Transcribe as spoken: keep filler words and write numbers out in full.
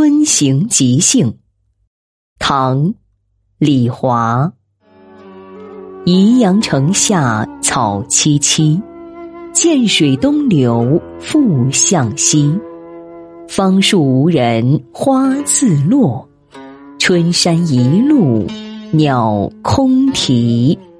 春行即兴，唐·李华。宜阳城下草萋萋，涧水东流复向西。芳树无人花自落，春山一路鸟空啼。